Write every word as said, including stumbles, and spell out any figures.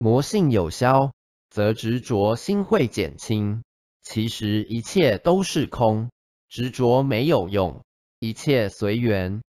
魔性有消，则执着心会减轻。其实一切都是空，执着没有用，一切随缘。